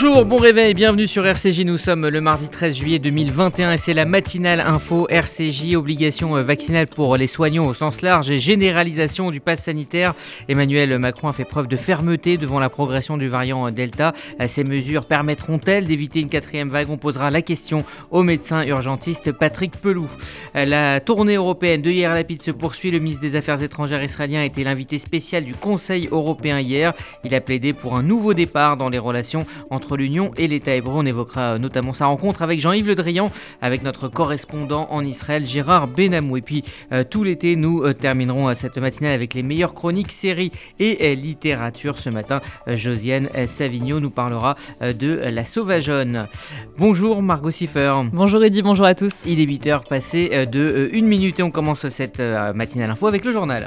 Bonjour, bon réveil, bienvenue sur RCJ, nous sommes le mardi 13 juillet 2021 et c'est la matinale info RCJ, obligation vaccinale pour les soignants au sens large et généralisation du pass sanitaire. Emmanuel Macron a fait preuve de fermeté devant la progression du variant Delta. Ces mesures permettront-elles d'éviter une quatrième vague? On posera la question au médecin urgentiste Patrick Pelloux. La tournée européenne de Yair Lapid se poursuit. Le ministre des Affaires étrangères israélien a été l'invité spécial du Conseil européen hier. Il a plaidé pour un nouveau départ dans les relations entre l'Union et l'État hébreu. On évoquera notamment sa rencontre avec Jean-Yves Le Drian, avec notre correspondant en Israël, Gérard Benamou. Et puis tout l'été, nous terminerons cette matinale avec les meilleures chroniques, séries et littérature. Ce matin, Josiane Savigno nous parlera de La Sauvageonne. Bonjour Margot Siffer. Bonjour Eddy, bonjour à tous. Il est 8h passé de 1 minute et on commence cette matinale info avec le journal.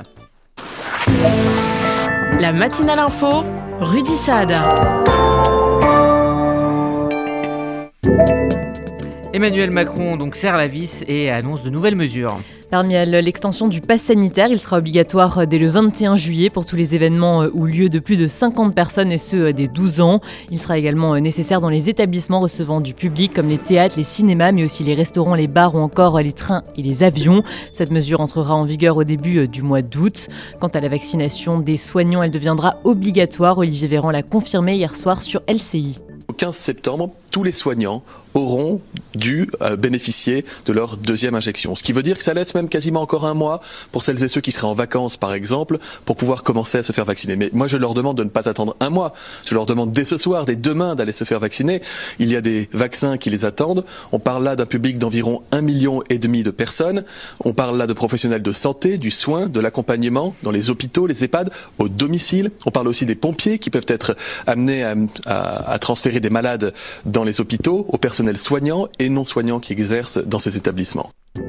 La matinale info, Rudy Saad. Emmanuel Macron donc serre la vis et annonce de nouvelles mesures. Parmi elles, l'extension du pass sanitaire, il sera obligatoire dès le 21 juillet pour tous les événements ou lieux de plus de 50 personnes et ceux des 12 ans. Il sera également nécessaire dans les établissements recevant du public comme les théâtres, les cinémas, mais aussi les restaurants, les bars ou encore les trains et les avions. Cette mesure entrera en vigueur au début du mois d'août. Quant à la vaccination des soignants, elle deviendra obligatoire. Olivier Véran l'a confirmé hier soir sur LCI. Au 15 septembre, tous les soignants auront dû bénéficier de leur deuxième injection. Ce qui veut dire que ça laisse même quasiment encore un mois pour celles et ceux qui seraient en vacances, par exemple, pour pouvoir commencer à se faire vacciner. Mais moi, je leur demande de ne pas attendre un mois. Je leur demande dès ce soir, dès demain, d'aller se faire vacciner. Il y a des vaccins qui les attendent. On parle là d'un public d'environ 1,5 million de personnes. On parle là de professionnels de santé, du soin, de l'accompagnement dans les hôpitaux, les EHPAD, au domicile. On parle aussi des pompiers qui peuvent être amenés à transférer des malades dans les hôpitaux, au personnel soignants et non soignants qui exercent dans ces établissements.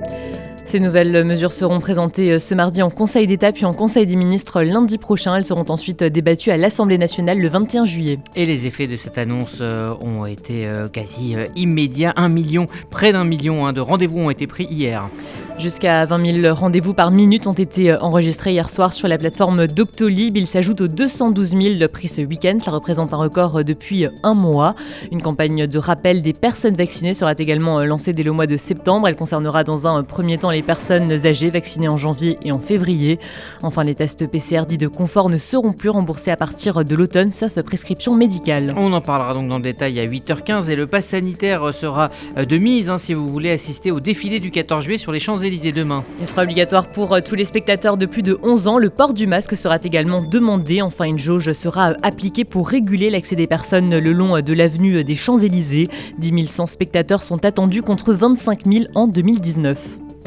Ces nouvelles mesures seront présentées ce mardi en Conseil d'État puis en Conseil des ministres lundi prochain. Elles seront ensuite débattues à l'Assemblée nationale le 21 juillet. Et les effets de cette annonce ont été quasi immédiats. Près d'un million de rendez-vous ont été pris hier. Jusqu'à 20 000 rendez-vous par minute ont été enregistrés hier soir sur la plateforme Doctolib. Ils s'ajoutent aux 212 000 pris ce week-end. Ça représente un record depuis un mois. Une campagne de rappel des personnes vaccinées sera également lancée dès le mois de septembre. Elle concernera dans un premier temps les personnes âgées vaccinées en janvier et en février. Enfin, les tests PCR dits de confort ne seront plus remboursés à partir de l'automne, sauf prescription médicale. On en parlera donc dans le détail à 8h15 et le pass sanitaire sera de mise si vous voulez assister au défilé du 14 juillet sur les Champs-Élysées demain. Il sera obligatoire pour tous les spectateurs de plus de 11 ans. Le port du masque sera également demandé. Enfin, une jauge sera appliquée pour réguler l'accès des personnes le long de l'avenue des Champs-Élysées. 10 100 spectateurs sont attendus contre 25 000 en 2019.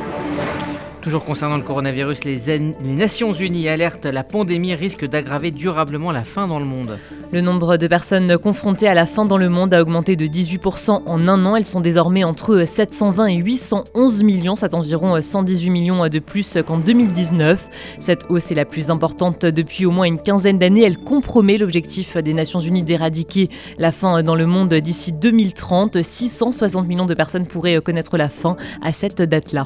Toujours concernant le coronavirus, les Nations Unies alertent, la pandémie risque d'aggraver durablement la faim dans le monde. Le nombre de personnes confrontées à la faim dans le monde a augmenté de 18% en un an. Elles sont désormais entre 720 et 811 millions, soit environ 118 millions de plus qu'en 2019. Cette hausse est la plus importante depuis au moins une quinzaine d'années. Elle compromet l'objectif des Nations Unies d'éradiquer la faim dans le monde d'ici 2030. 660 millions de personnes pourraient connaître la faim à cette date-là.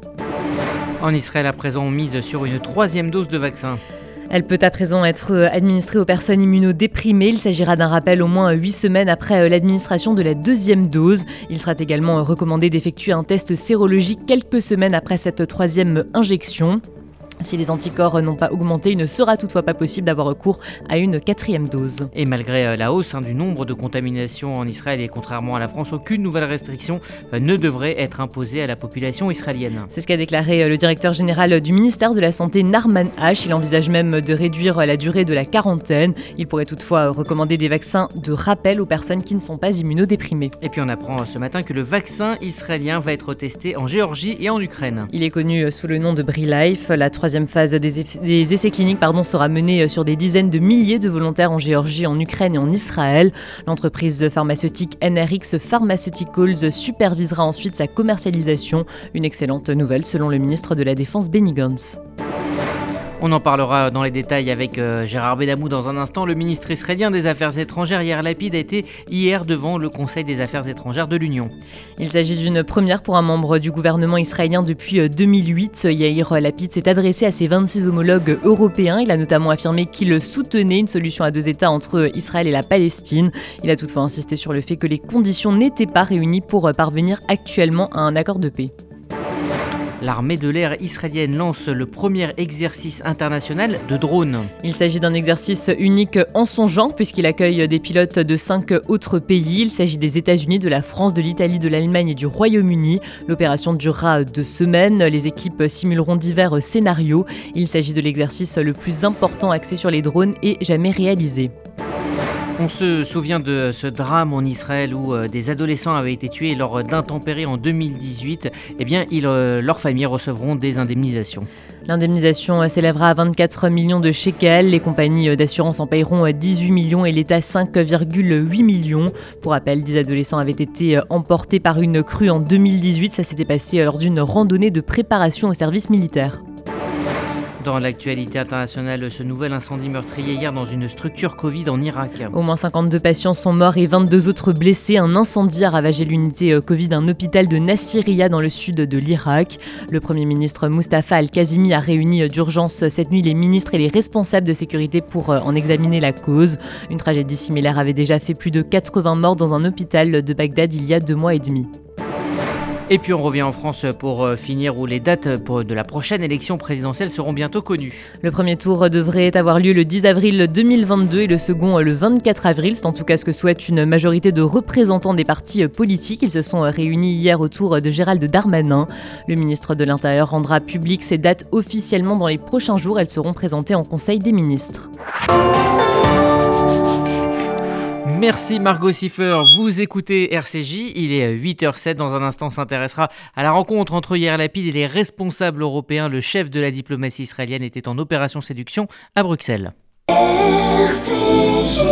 En Israël, à présent, on mise sur une 3e dose de vaccin. Elle peut à présent être administrée aux personnes immunodéprimées. Il s'agira d'un rappel au moins 8 semaines après l'administration de la 2e dose. Il sera également recommandé d'effectuer un test sérologique quelques semaines après cette 3e injection. Si les anticorps n'ont pas augmenté, il ne sera toutefois pas possible d'avoir recours à une 4e dose. Et malgré la hausse du nombre de contaminations en Israël et contrairement à la France, aucune nouvelle restriction ne devrait être imposée à la population israélienne. C'est ce qu'a déclaré le directeur général du ministère de la Santé, Narman H. Il envisage même de réduire la durée de la quarantaine. Il pourrait toutefois recommander des vaccins de rappel aux personnes qui ne sont pas immunodéprimées. Et puis on apprend ce matin que le vaccin israélien va être testé en Géorgie et en Ukraine. Il est connu sous le nom de BriLife. La 3e phase des essais cliniques sera menée sur des dizaines de milliers de volontaires en Géorgie, en Ukraine et en Israël. L'entreprise pharmaceutique NRX Pharmaceuticals supervisera ensuite sa commercialisation. Une excellente nouvelle selon le ministre de la Défense Benny Gantz. On en parlera dans les détails avec Gérard Benamou dans un instant. Le ministre israélien des Affaires étrangères, Yair Lapid, a été hier devant le Conseil des Affaires étrangères de l'Union. Il s'agit d'une première pour un membre du gouvernement israélien depuis 2008. Yair Lapid s'est adressé à ses 26 homologues européens. Il a notamment affirmé qu'il soutenait une solution à 2 États entre Israël et la Palestine. Il a toutefois insisté sur le fait que les conditions n'étaient pas réunies pour parvenir actuellement à un accord de paix. L'armée de l'air israélienne lance le premier exercice international de drones. Il s'agit d'un exercice unique en son genre puisqu'il accueille des pilotes de 5 autres pays. Il s'agit des États-Unis, de la France, de l'Italie, de l'Allemagne et du Royaume-Uni. L'opération durera 2 semaines. Les équipes simuleront divers scénarios. Il s'agit de l'exercice le plus important axé sur les drones et jamais réalisé. On se souvient de ce drame en Israël où des adolescents avaient été tués lors d'intempéries en 2018. Eh bien, leurs familles recevront des indemnisations. L'indemnisation s'élèvera à 24 millions de shekels. Les compagnies d'assurance en paieront 18 millions et l'État 5,8 millions. Pour rappel, 10 adolescents avaient été emportés par une crue en 2018. Ça s'était passé lors d'une randonnée de préparation au service militaire. Dans l'actualité internationale, ce nouvel incendie meurtrier hier dans une structure Covid en Irak. Au moins 52 patients sont morts et 22 autres blessés. Un incendie a ravagé l'unité Covid d'un hôpital de Nasiriyah dans le sud de l'Irak. Le Premier ministre Mustafa Al-Kazimi a réuni d'urgence cette nuit les ministres et les responsables de sécurité pour en examiner la cause. Une tragédie similaire avait déjà fait plus de 80 morts dans un hôpital de Bagdad il y a 2 mois et demi. Et puis on revient en France pour finir où les dates de la prochaine élection présidentielle seront bientôt connues. Le premier tour devrait avoir lieu le 10 avril 2022 et le second le 24 avril. C'est en tout cas ce que souhaite une majorité de représentants des partis politiques. Ils se sont réunis hier autour de Gérald Darmanin. Le ministre de l'Intérieur rendra public ces dates officiellement dans les prochains jours. Elles seront présentées en Conseil des ministres. Merci Margot Siffer, vous écoutez RCJ, il est 8h07, dans un instant on s'intéressera à la rencontre entre Yair Lapid et les responsables européens. Le chef de la diplomatie israélienne était en opération séduction à Bruxelles. RCJ.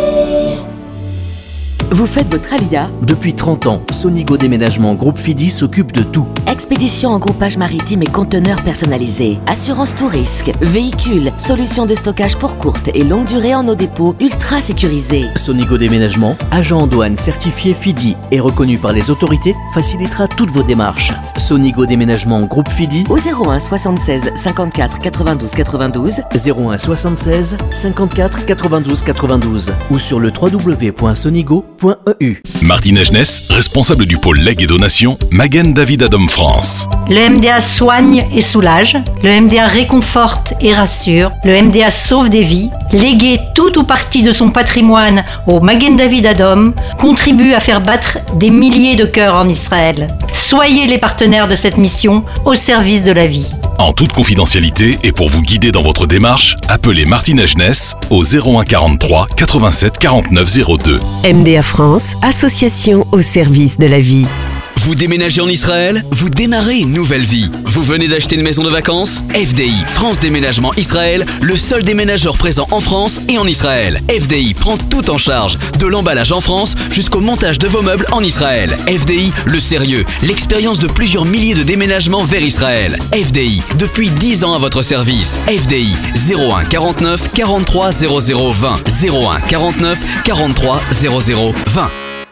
Vous faites votre alia? Depuis 30 ans, Sonigo Déménagement Groupe Fidi s'occupe de tout. Expédition en groupage maritime et conteneurs personnalisés. Assurance tout risque. Véhicules. Solutions de stockage pour courte et longue durée en nos dépôts ultra sécurisés. Sonigo Déménagement, agent en douane certifié Fidi et reconnu par les autorités, facilitera toutes vos démarches. Sonigo Déménagement Groupe Fidi au 01 76 54 92 92 01 76 54 92 92 ou sur le www.sonigo.eu. Martine Agenès, responsable du pôle legs et donation, Magen David Adom France. Le MDA soigne et soulage, le MDA réconforte et rassure, le MDA sauve des vies. Léguer tout ou partie de son patrimoine au Magen David Adom contribue à faire battre des milliers de cœurs en Israël. Soyez les partenaires de cette mission au service de la vie. En toute confidentialité et pour vous guider dans votre démarche, appelez Martine Agenès au 01 43 87 49 02. MDA France, association au service de la vie. Vous déménagez en Israël? Vous démarrez une nouvelle vie. Vous venez d'acheter une maison de vacances? FDI, France Déménagement Israël, le seul déménageur présent en France et en Israël. FDI prend tout en charge, de l'emballage en France jusqu'au montage de vos meubles en Israël. FDI, le sérieux, l'expérience de plusieurs milliers de déménagements vers Israël. FDI, depuis 10 ans à votre service. FDI, 01 49 43 00 20. 01 49 43 00 20.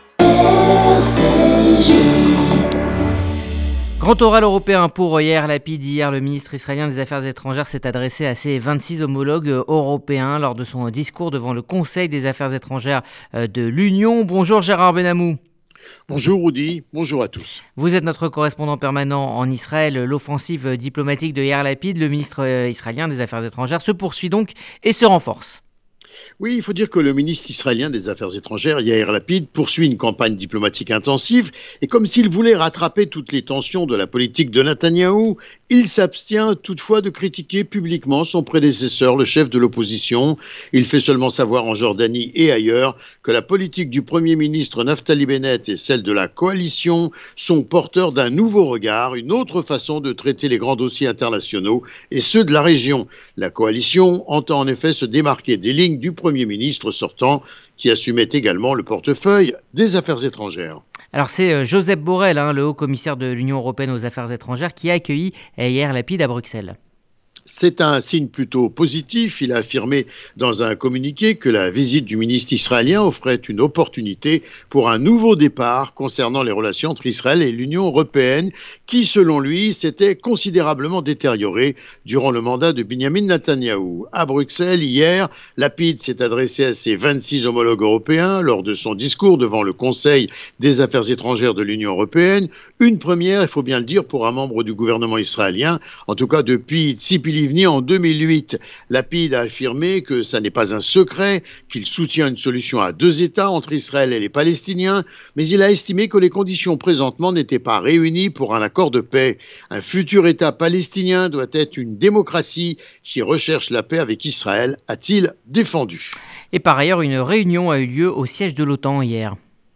Grand oral européen pour Yair Lapid. Hier, le ministre israélien des Affaires étrangères s'est adressé à ses 26 homologues européens lors de son discours devant le Conseil des Affaires étrangères de l'Union. Bonjour Gérard Benamou. Bonjour Rudy, bonjour à tous. Vous êtes notre correspondant permanent en Israël. L'offensive diplomatique de Yair Lapid, le ministre israélien des Affaires étrangères, se poursuit donc et se renforce. Oui, il faut dire que le ministre israélien des Affaires étrangères, Yair Lapid, poursuit une campagne diplomatique intensive et comme s'il voulait rattraper toutes les tensions de la politique de Netanyahou, il s'abstient toutefois de critiquer publiquement son prédécesseur, le chef de l'opposition. Il fait seulement savoir en Jordanie et ailleurs que la politique du Premier ministre Naftali Bennett et celle de la coalition sont porteurs d'un nouveau regard, une autre façon de traiter les grands dossiers internationaux et ceux de la région. La coalition entend en effet se démarquer des lignes du Premier ministre sortant qui assumait également le portefeuille des Affaires étrangères. Alors c'est Josep Borrell, le haut commissaire de l'Union européenne aux Affaires étrangères, qui a accueilli Yair Lapid à Bruxelles. C'est un signe plutôt positif. Il a affirmé dans un communiqué que la visite du ministre israélien offrait une opportunité pour un nouveau départ concernant les relations entre Israël et l'Union européenne, qui, selon lui, s'était considérablement détériorée durant le mandat de Benjamin Netanyahou. À Bruxelles, hier, Lapid s'est adressé à ses 26 homologues européens lors de son discours devant le Conseil des affaires étrangères de l'Union européenne. Une première, il faut bien le dire, pour un membre du gouvernement israélien, en tout cas depuis Tzipri Livni en 2008. Lapid a affirmé que ça n'est pas un secret, qu'il soutient une solution à 2 États entre Israël et les Palestiniens, mais il a estimé que les conditions présentement n'étaient pas réunies pour un accord de paix. Un futur État palestinien doit être une démocratie qui recherche la paix avec Israël, a-t-il défendu. Et par ailleurs, une réunion a eu lieu au siège de l'OTAN hier.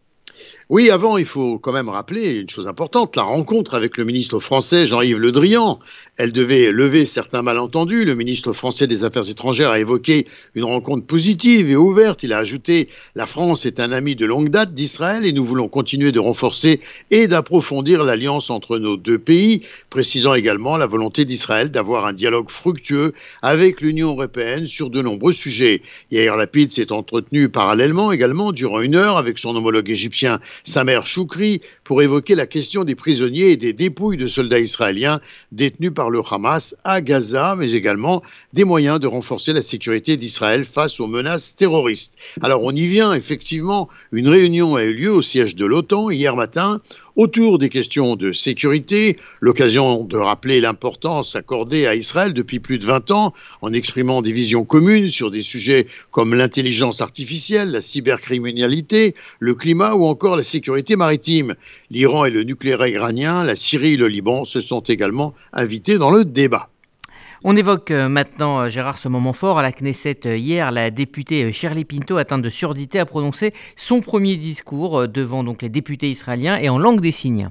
Oui, avant, il faut quand même rappeler une chose importante, la rencontre avec le ministre français Jean-Yves Le Drian. Elle devait lever certains malentendus. Le ministre français des Affaires étrangères a évoqué une rencontre positive et ouverte. Il a ajouté « La France est un ami de longue date d'Israël et nous voulons continuer de renforcer et d'approfondir l'alliance entre nos 2 pays », précisant également la volonté d'Israël d'avoir un dialogue fructueux avec l'Union européenne sur de nombreux sujets. Yair Lapid s'est entretenu parallèlement également durant 1 heure avec son homologue égyptien Samer Choukri pour évoquer la question des prisonniers et des dépouilles de soldats israéliens détenus par le Hamas à Gaza, mais également des moyens de renforcer la sécurité d'Israël face aux menaces terroristes. Alors on y vient, effectivement, une réunion a eu lieu au siège de l'OTAN hier matin autour des questions de sécurité, l'occasion de rappeler l'importance accordée à Israël depuis plus de 20 ans en exprimant des visions communes sur des sujets comme l'intelligence artificielle, la cybercriminalité, le climat ou encore la sécurité maritime. L'Iran et le nucléaire iranien, la Syrie et le Liban se sont également invités dans le débat. On évoque maintenant, Gérard, ce moment fort à la Knesset. Hier, la députée Shirley Pinto, atteinte de surdité, a prononcé son premier discours devant donc les députés israéliens et en langue des signes.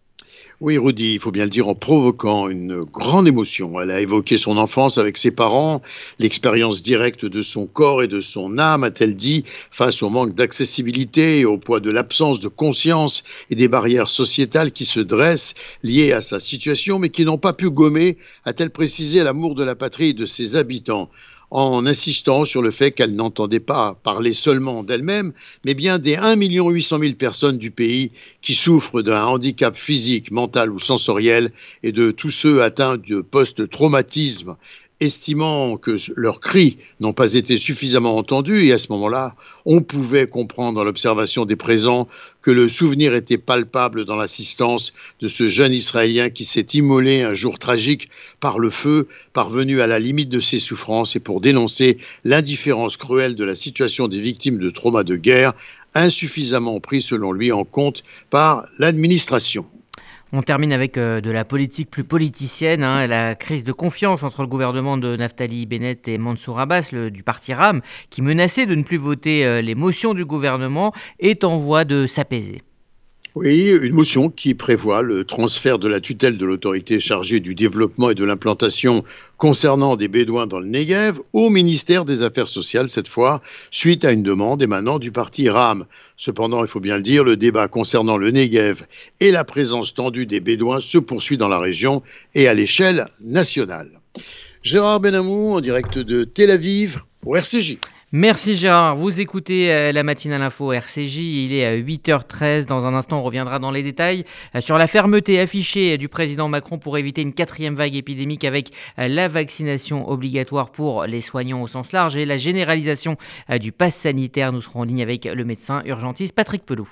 Oui, Rudy, il faut bien le dire, en provoquant une grande émotion. Elle a évoqué son enfance avec ses parents, l'expérience directe de son corps et de son âme, a-t-elle dit, face au manque d'accessibilité et au poids de l'absence de conscience et des barrières sociétales qui se dressent liées à sa situation, mais qui n'ont pas pu gommer, a-t-elle précisé, l'amour de la patrie et de ses habitants, en insistant sur le fait qu'elle n'entendait pas parler seulement d'elle-même, mais bien des 1 800 000 personnes du pays qui souffrent d'un handicap physique, mental ou sensoriel, et de tous ceux atteints de post-traumatisme, estimant que leurs cris n'ont pas été suffisamment entendus. Et à ce moment-là, on pouvait comprendre dans l'observation des présents que le souvenir était palpable dans l'assistance de ce jeune Israélien qui s'est immolé un jour tragique par le feu, parvenu à la limite de ses souffrances, et pour dénoncer l'indifférence cruelle de la situation des victimes de traumas de guerre, insuffisamment pris selon lui en compte par l'administration. On termine avec de la politique plus politicienne, la crise de confiance entre le gouvernement de Naftali Bennett et Mansour Abbas, du parti RAM, qui menaçait de ne plus voter les motions du gouvernement, est en voie de s'apaiser. Oui, une motion qui prévoit le transfert de la tutelle de l'autorité chargée du développement et de l'implantation concernant des Bédouins dans le Negev au ministère des Affaires sociales, cette fois, suite à une demande émanant du parti RAM. Cependant, il faut bien le dire, le débat concernant le Negev et la présence tendue des Bédouins se poursuit dans la région et à l'échelle nationale. Gérard Benamou, en direct de Tel Aviv pour RCJ. Merci Gérard, vous écoutez la matinale info RCJ, il est à 8h13, dans un instant on reviendra dans les détails sur la fermeté affichée du président Macron pour éviter une 4e vague épidémique avec la vaccination obligatoire pour les soignants au sens large et la généralisation du pass sanitaire. Nous serons en ligne avec le médecin urgentiste Patrick Pelou.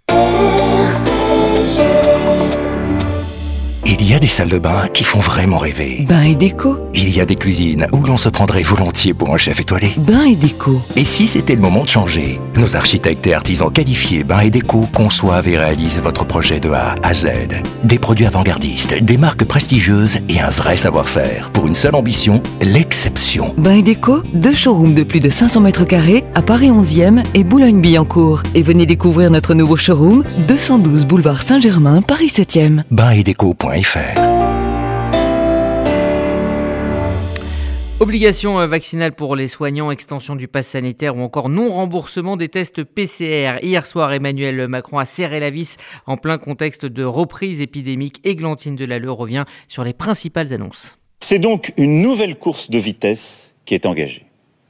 RCJ. Il y a des salles de bain qui font vraiment rêver. Bain et déco. Il y a des cuisines où l'on se prendrait volontiers pour un chef étoilé. Bain et déco. Et si c'était le moment de changer? Nos architectes et artisans qualifiés Bain et déco conçoivent et réalisent votre projet de A à Z. Des produits avant-gardistes, des marques prestigieuses et un vrai savoir-faire. Pour une seule ambition, l'exception. Bain et déco, 2 showrooms de plus de 500 mètres carrés à Paris 11e et Boulogne-Billancourt. Et venez découvrir notre nouveau showroom, 212 boulevard Saint-Germain, Paris 7e. Bainetdeco.fr. Obligation vaccinale pour les soignants, extension du pass sanitaire ou encore non-remboursement des tests PCR. Hier soir, Emmanuel Macron a serré la vis en plein contexte de reprise épidémique. Églantine Delalleux revient sur les principales annonces. C'est donc une nouvelle course de vitesse qui est engagée.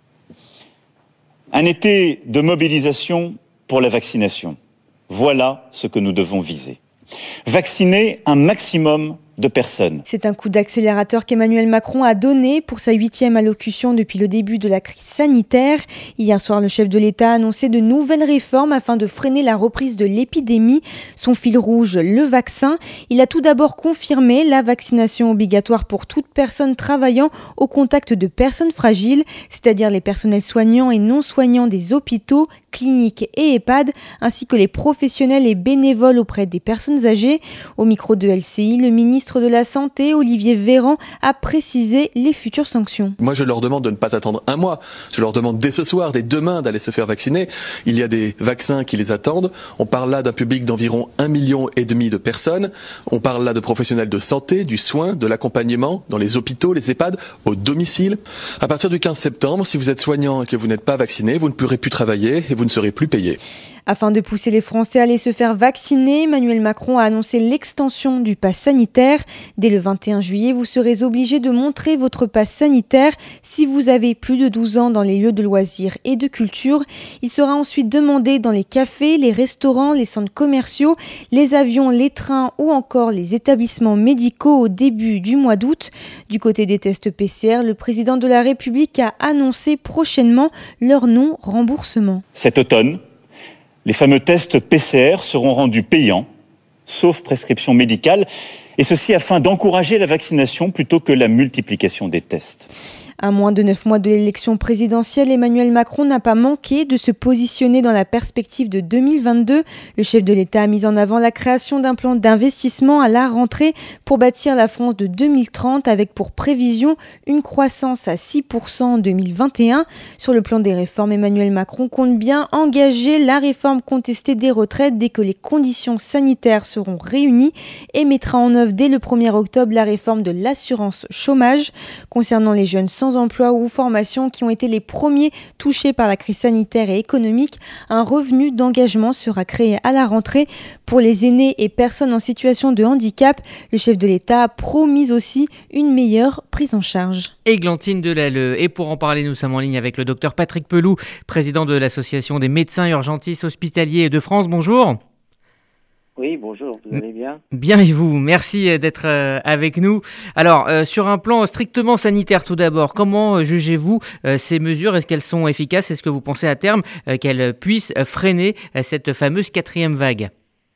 Un été de mobilisation pour la vaccination. Voilà ce que nous devons viser. Vacciner un maximum de personnes. C'est un coup d'accélérateur qu'Emmanuel Macron a donné pour sa 8e allocution depuis le début de la crise sanitaire. Hier soir, le chef de l'État a annoncé de nouvelles réformes afin de freiner la reprise de l'épidémie. Son fil rouge, le vaccin. Il a tout d'abord confirmé la vaccination obligatoire pour toute personne travaillant au contact de personnes fragiles, c'est-à-dire les personnels soignants et non soignants des hôpitaux, cliniques et EHPAD, ainsi que les professionnels et bénévoles auprès des personnes âgées. Au micro de LCI, le ministre de la Santé, Olivier Véran, a précisé les futures sanctions. Moi, je leur demande de ne pas attendre un mois. Je leur demande dès ce soir, dès demain, d'aller se faire vacciner. Il y a des vaccins qui les attendent. On parle là d'un public d'environ 1,5 million de personnes. On parle là de professionnels de santé, du soin, de l'accompagnement, dans les hôpitaux, les EHPAD, au domicile. À partir du 15 septembre, si vous êtes soignant et que vous n'êtes pas vacciné, vous ne pourrez plus travailler et vous ne serez plus payé. Afin de pousser les Français à aller se faire vacciner, Emmanuel Macron a annoncé l'extension du pass sanitaire. Dès le 21 juillet, vous serez obligé de montrer votre pass sanitaire si vous avez plus de 12 ans dans les lieux de loisirs et de culture. Il sera ensuite demandé dans les cafés, les restaurants, les centres commerciaux, les avions, les trains ou encore les établissements médicaux au début du mois d'août. Du côté des tests PCR, le président de la République a annoncé prochainement leur non-remboursement. Cet automne, les fameux tests PCR seront rendus payants, sauf prescription médicale, et ceci afin d'encourager la vaccination plutôt que la multiplication des tests. À moins de 9 mois de l'élection présidentielle, Emmanuel Macron n'a pas manqué de se positionner dans la perspective de 2022. Le chef de l'État a mis en avant la création d'un plan d'investissement à la rentrée pour bâtir la France de 2030 avec pour prévision une croissance à 6% en 2021. Sur le plan des réformes, Emmanuel Macron compte bien engager la réforme contestée des retraites dès que les conditions sanitaires seront réunies et mettra en œuvre dès le 1er octobre la réforme de l'assurance chômage. Concernant les jeunes sans emploi ou formation qui ont été les premiers touchés par la crise sanitaire et économique, un revenu d'engagement sera créé à la rentrée pour les aînés et personnes en situation de handicap. Le chef de l'État a promis aussi une meilleure prise en charge. Églantine Delalleux. Et pour en parler, nous sommes en ligne avec le docteur Patrick Pelloux, président de l'Association des médecins urgentistes hospitaliers de France. Bonjour. Oui, bonjour, vous allez bien ? Bien et vous, merci d'être avec nous. Alors, sur un plan strictement sanitaire tout d'abord, comment jugez-vous ces mesures ? Est-ce qu'elles sont efficaces ? Est-ce que vous pensez à terme qu'elles puissent freiner cette fameuse 4e vague ?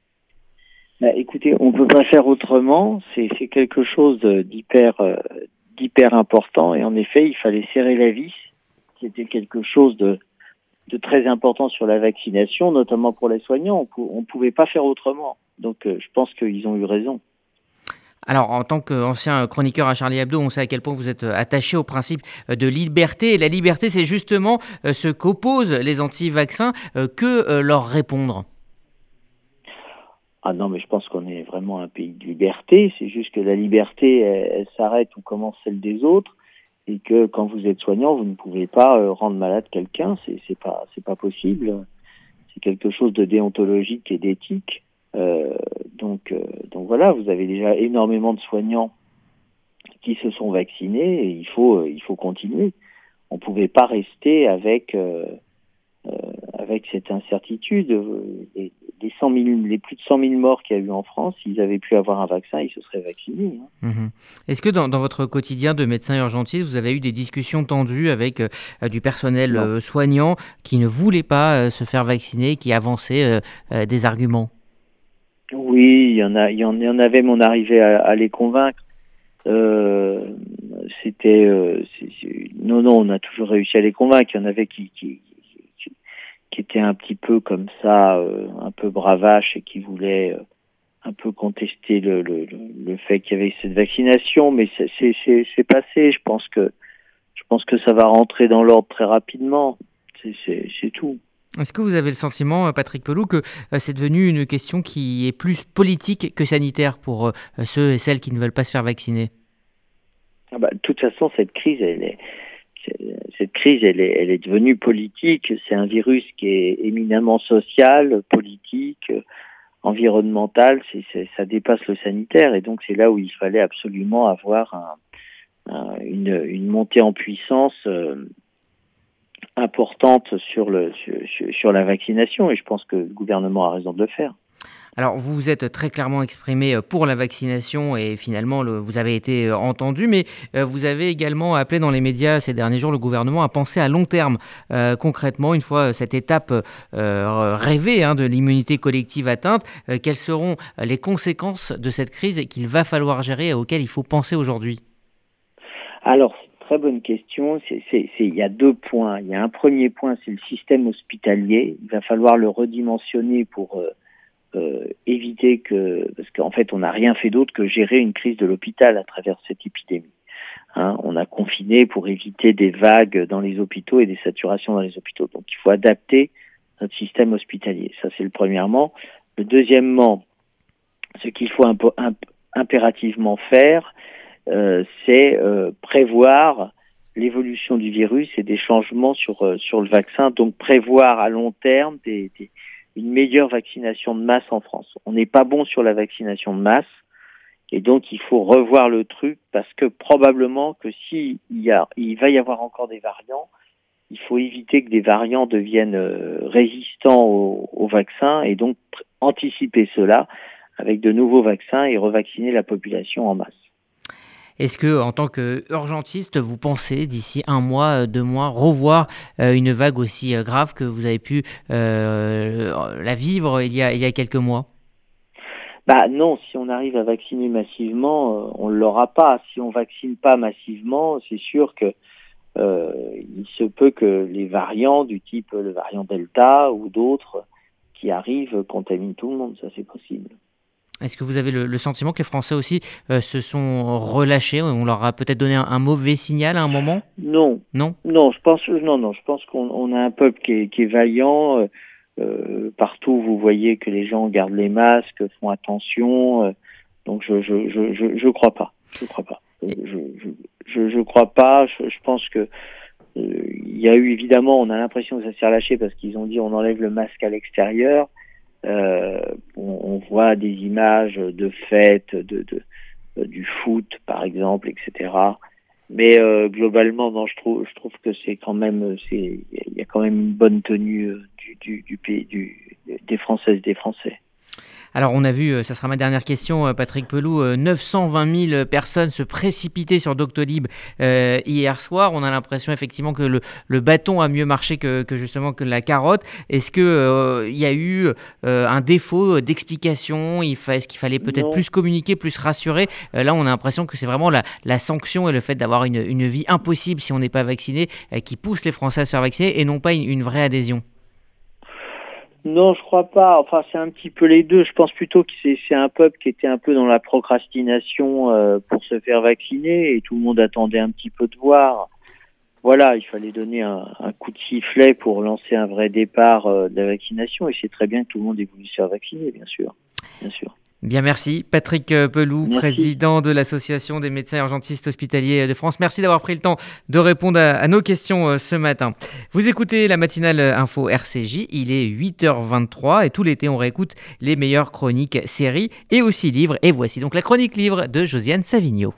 Écoutez, on ne peut pas faire autrement, c'est quelque chose d'hyper important et en effet, il fallait serrer la vis. C'était quelque chose de très important sur la vaccination, notamment pour les soignants. On ne pouvait pas faire autrement. Donc, je pense qu'ils ont eu raison. Alors, en tant qu'ancien chroniqueur à Charlie Hebdo, on sait à quel point vous êtes attaché au principe de liberté. Et la liberté, c'est justement ce qu'opposent les anti-vaccins. Que leur répondre ? Ah non, mais je pense qu'on est vraiment un pays de liberté. C'est juste que la liberté, elle s'arrête où commence celle des autres. Et que quand vous êtes soignant, vous ne pouvez pas rendre malade quelqu'un, c'est pas possible. C'est quelque chose de déontologique et d'éthique. Donc voilà, vous avez déjà énormément de soignants qui se sont vaccinés et il faut continuer. On pouvait pas rester avec cette incertitude. Les plus de 100 000 morts qu'il y a eu en France, s'ils avaient pu avoir un vaccin, ils se seraient vaccinés. Est-ce que dans votre quotidien de médecin urgentiste, vous avez eu des discussions tendues avec du personnel soignant qui ne voulait pas se faire vacciner, qui avançait des arguments ? Oui, il y en avait, mais on arrivait à les convaincre. Non, on a toujours réussi à les convaincre. Il y en avait qui étaient un petit peu comme ça, un peu bravaches et qui voulaient un peu contester le fait qu'il y avait cette vaccination, mais c'est passé. Je pense que ça va rentrer dans l'ordre très rapidement. C'est tout. Est-ce que vous avez le sentiment, Patrick Pelloux, que c'est devenu une question qui est plus politique que sanitaire pour ceux et celles qui ne veulent pas se faire vacciner ? De toute façon, cette crise, elle est devenue politique. C'est un virus qui est éminemment social, politique, environnemental. Ça dépasse le sanitaire, et donc c'est là où il fallait absolument avoir une montée en puissance importante sur la vaccination, et je pense que le gouvernement a raison de le faire. Alors, vous vous êtes très clairement exprimé pour la vaccination et finalement, vous avez été entendu, mais vous avez également appelé dans les médias ces derniers jours le gouvernement à penser à long terme. Concrètement, une fois cette étape rêvée de l'immunité collective atteinte, quelles seront les conséquences de cette crise qu'il va falloir gérer et auxquelles il faut penser aujourd'hui ? Alors, c'est une très bonne question. Il y a 2 points. Il y a un premier point, c'est le système hospitalier. Il va falloir le redimensionner pour éviter parce qu'en fait on n'a rien fait d'autre que gérer une crise de l'hôpital à travers cette épidémie. On a confiné pour éviter des vagues dans les hôpitaux et des saturations dans les hôpitaux. Donc il faut adapter notre système hospitalier. Ça c'est le premièrement. Le deuxièmement, ce qu'il faut impérativement faire, c'est prévoir l'évolution du virus et des changements sur le vaccin. Donc prévoir à long terme une meilleure vaccination de masse en France. On n'est pas bon sur la vaccination de masse, et donc il faut revoir le truc, parce que probablement que il va y avoir encore des variants, il faut éviter que des variants deviennent résistants au vaccin, et donc anticiper cela avec de nouveaux vaccins et revacciner la population en masse. Est-ce que, en tant qu'urgentiste, vous pensez d'ici 1 mois, 2 mois, revoir une vague aussi grave que vous avez pu la vivre il y a quelques mois ? Non, si on arrive à vacciner massivement, on ne l'aura pas. Si on ne vaccine pas massivement, c'est sûr que il se peut que les variants du type le variant Delta ou d'autres qui arrivent contaminent tout le monde. Ça, c'est possible. Est-ce que vous avez le sentiment que les Français aussi se sont relâchés ? On leur a peut-être donné un mauvais signal à un moment ? Non. Je pense qu'on a un peuple qui est vaillant. Partout, vous voyez que les gens gardent les masques, font attention. Donc, je crois pas. Je crois pas. Je pense que il y a eu, évidemment, on a l'impression que ça s'est relâché parce qu'ils ont dit on enlève le masque à l'extérieur. On voit des images de fêtes, du foot par exemple, etc. Mais globalement, non, je trouve que c'est quand même, il y a quand même une bonne tenue du pays, des Françaises, des Français. Alors on a vu, ça sera ma dernière question, Patrick Pelloux, 920 000 personnes se précipiter sur Doctolib hier soir. On a l'impression effectivement que le bâton a mieux marché que justement que la carotte. Est-ce que y a eu un défaut d'explication ? Est-ce qu'il fallait peut-être plus communiquer, plus rassurer ? Là, on a l'impression que c'est vraiment la sanction et le fait d'avoir une vie impossible si on n'est pas vacciné qui pousse les Français à se faire vacciner et non pas une vraie adhésion. Non, je crois pas. Enfin, c'est un petit peu les deux. Je pense plutôt que c'est un peuple qui était un peu dans la procrastination pour se faire vacciner, et tout le monde attendait un petit peu de voir. Voilà, il fallait donner un coup de sifflet pour lancer un vrai départ de la vaccination, et c'est très bien que tout le monde ait voulu se faire vacciner, bien sûr. Bien, merci. Patrick Pelloux, président de l'Association des médecins urgentistes hospitaliers de France. Merci d'avoir pris le temps de répondre à nos questions ce matin. Vous écoutez la matinale info RCJ, il est 8h23 et tout l'été on réécoute les meilleures chroniques, séries et aussi livres. Et voici donc la chronique livre de Josiane Savigno.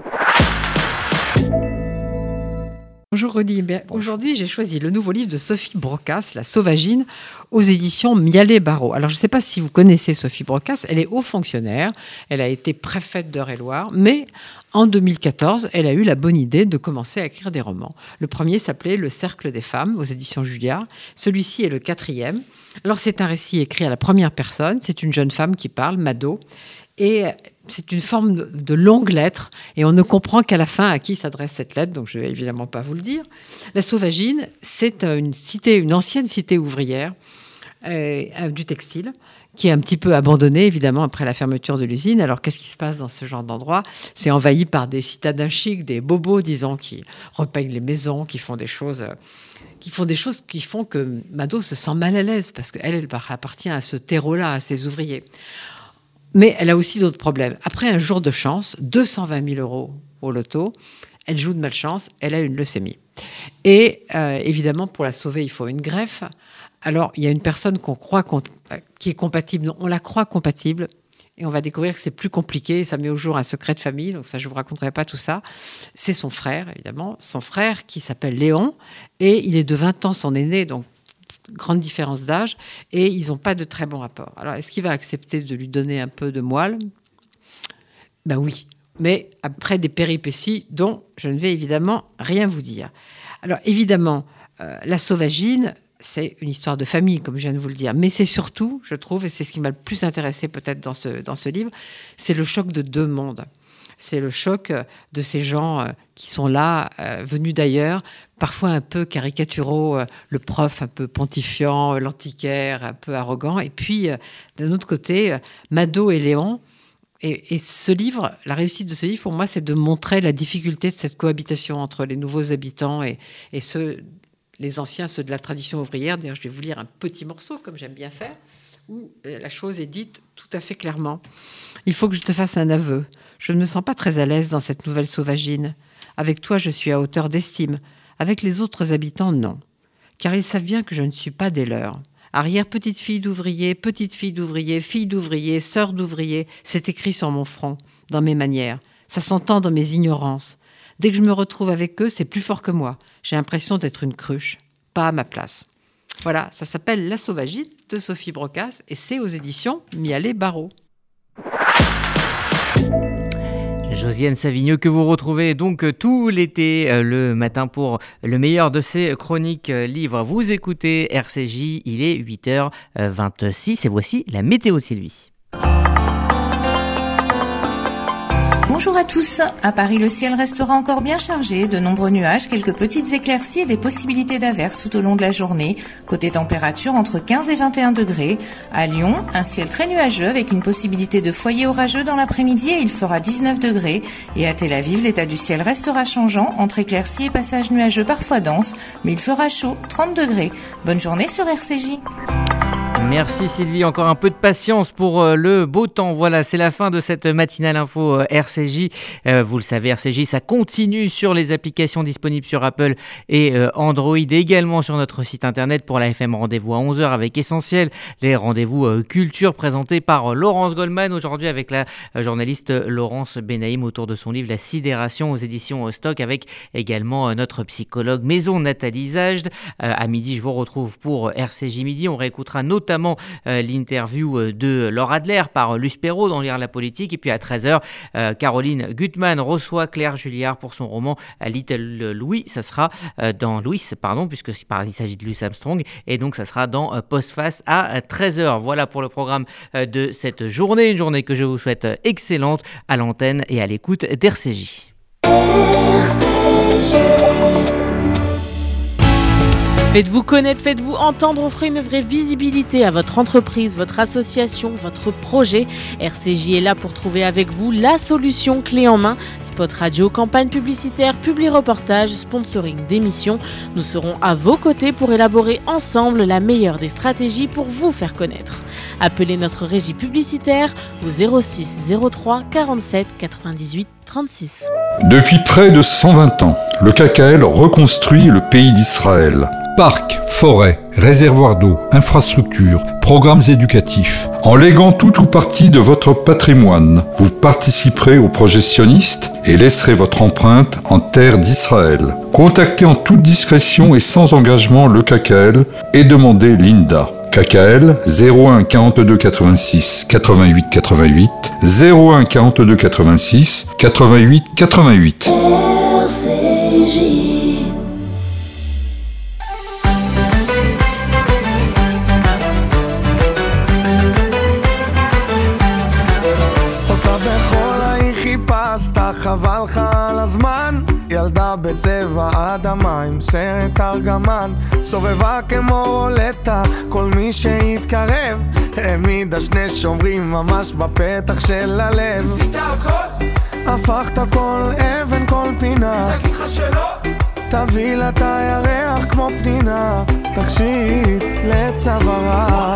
Bonjour Rudy, aujourd'hui j'ai choisi le nouveau livre de Sophie Brocasse, La Sauvagine, aux éditions Mialet-Barreau. Alors je ne sais pas si vous connaissez Sophie Brocasse, elle est haut fonctionnaire, elle a été préfète d'Eure-et-Loir, mais en 2014, elle a eu la bonne idée de commencer à écrire des romans. Le premier s'appelait Le Cercle des femmes, aux éditions Julliard, celui-ci est le 4e. Alors c'est un récit écrit à la première personne, c'est une jeune femme qui parle, Mado, et c'est une forme de longue lettre, et on ne comprend qu'à la fin à qui s'adresse cette lettre, donc je ne vais évidemment pas vous le dire. La Sauvagine, c'est une ancienne cité ouvrière du textile, qui est un petit peu abandonnée, évidemment, après la fermeture de l'usine. Alors, qu'est-ce qui se passe dans ce genre d'endroit ? C'est envahi par des citadins chics, des bobos, disons, qui repeignent les maisons, qui font des choses qui font que Mado se sent mal à l'aise, parce qu'elle appartient à ce terreau-là, à ces ouvriers. Mais elle a aussi d'autres problèmes. Après un jour de chance, 220 000 € au loto, elle joue de malchance, elle a une leucémie. Et évidemment, pour la sauver, il faut une greffe. Alors, il y a une personne qu'on croit qui est compatible. Non, on la croit compatible. Et on va découvrir que c'est plus compliqué. Ça met au jour un secret de famille. Donc ça, je ne vous raconterai pas tout ça. C'est son frère, évidemment. Son frère qui s'appelle Léon. Et il est de 20 ans son aîné. Donc, grande différence d'âge. Et ils n'ont pas de très bon rapport. Alors, est-ce qu'il va accepter de lui donner un peu de moelle ? Ben oui. Mais après des péripéties dont je ne vais évidemment rien vous dire. Alors, évidemment, la sauvagine... c'est une histoire de famille, comme je viens de vous le dire. Mais c'est surtout, je trouve, et c'est ce qui m'a le plus intéressé peut-être dans ce livre, c'est le choc de deux mondes. C'est le choc de ces gens qui sont là, venus d'ailleurs, parfois un peu caricaturaux, le prof un peu pontifiant, l'antiquaire un peu arrogant. Et puis, d'un autre côté, Mado et Léon. Et ce livre, la réussite de ce livre, pour moi, c'est de montrer la difficulté de cette cohabitation entre les nouveaux habitants et ceux... les anciens, ceux de la tradition ouvrière. D'ailleurs, je vais vous lire un petit morceau, comme j'aime bien faire, où la chose est dite tout à fait clairement. « Il faut que je te fasse un aveu. Je ne me sens pas très à l'aise dans cette nouvelle sauvagine. Avec toi, je suis à hauteur d'estime. Avec les autres habitants, non. Car ils savent bien que je ne suis pas des leurs. Arrière-petite-fille d'ouvrier, fille d'ouvrier, sœur d'ouvrier, c'est écrit sur mon front, dans mes manières. Ça s'entend dans mes ignorances. Dès que je me retrouve avec eux, c'est plus fort que moi. J'ai l'impression d'être une cruche, pas à ma place. » Voilà, ça s'appelle La Sauvagine de Sophie Brocasse et c'est aux éditions Mialet Barreau. Josiane Savigno que vous retrouvez donc tout l'été le matin pour le meilleur de ses chroniques livres. Vous écoutez RCJ, il est 8h26 et voici la météo de Sylvie. Bonjour à tous. À Paris, le ciel restera encore bien chargé. De nombreux nuages, quelques petites éclaircies et des possibilités d'averses tout au long de la journée. Côté température, entre 15 et 21 degrés. À Lyon, un ciel très nuageux avec une possibilité de foyer orageux dans l'après-midi et il fera 19 degrés. Et à Tel Aviv, l'état du ciel restera changeant entre éclaircies et passages nuageux parfois denses. Mais il fera chaud, 30 degrés. Bonne journée sur RCJ. Merci Sylvie, encore un peu de patience pour le beau temps. Voilà, c'est la fin de cette matinale info RCJ. Vous le savez, RCJ, ça continue sur les applications disponibles sur Apple et Android, et également sur notre site internet pour la FM Rendez-vous à 11h avec Essentiel, les rendez-vous culture présentés par Laurence Goldman, aujourd'hui avec la journaliste Laurence Benaïm autour de son livre La Sidération aux éditions Stock, avec également notre psychologue Maison Nathalie Zajd. À midi, je vous retrouve pour RCJ Midi. On réécoutera notamment l'interview de Laure Adler par Luce Perrault dans Lire la politique. Et puis à 13h, Caroline Gutmann reçoit Claire Julliard pour son roman Little Louis. Ça sera dans Louis, puisqu'il s'agit de Louis Armstrong. Et donc ça sera dans Postface à 13h. Voilà pour le programme de cette journée. Une journée que je vous souhaite excellente à l'antenne et à l'écoute d'RCJ. Faites-vous connaître, faites-vous entendre, offrez une vraie visibilité à votre entreprise, votre association, votre projet. RCJ est là pour trouver avec vous la solution clé en main. Spot radio, campagne publicitaire, publi-reportage, sponsoring d'émissions. Nous serons à vos côtés pour élaborer ensemble la meilleure des stratégies pour vous faire connaître. Appelez notre régie publicitaire au 06 03 47 98 36. Depuis près de 120 ans, le KKL reconstruit le pays d'Israël. Parcs, forêts, réservoirs d'eau, infrastructures, programmes éducatifs. En léguant tout ou partie de votre patrimoine, vous participerez au projet sioniste et laisserez votre empreinte en terre d'Israël. Contactez en toute discrétion et sans engagement le KKL et demandez l'INDA. KKL 01 42 86 88 88 01 42 86 88 88. RCJ. חבל לך על הזמן, ילדה בצבע אדמה עם סרט ארגמן, סובבה כמו רולטה, כל מי שהתקרב העמידה שני שומרים ממש בפתח של הלב. עשית הכל? הפכת כל אבן כל פינה, תגיד לך שלא, תביא לה את הירח כמו פנינה, תכשיט לצווארה,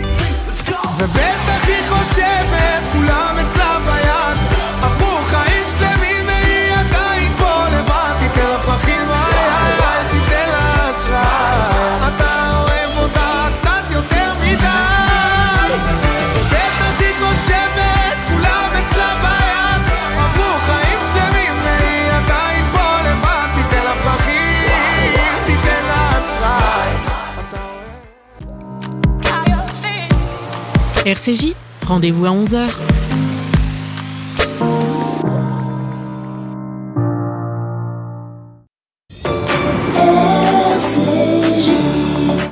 ובטח היא חושבת כולם אצלה ביד, עברו חיים שלמים והיא עדיין פה לבד, תיתן לה פרחים אל תיתן לה אשראי, אתה אוהב אותה קצת יותר מדי, ובטח היא חושבת RCJ, rendez-vous à 11h.